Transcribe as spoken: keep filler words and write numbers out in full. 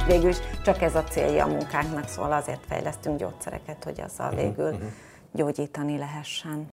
végül is csak ez a célja a munkánknak, szóval azért fejlesztünk gyógyszereket, hogy azzal végül gyógyítani lehessen.